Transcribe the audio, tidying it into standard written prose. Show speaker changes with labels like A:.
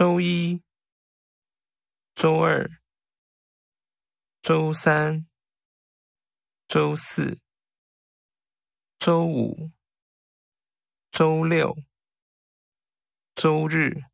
A: 周一、周二、周三、周四、周五、周六、周日、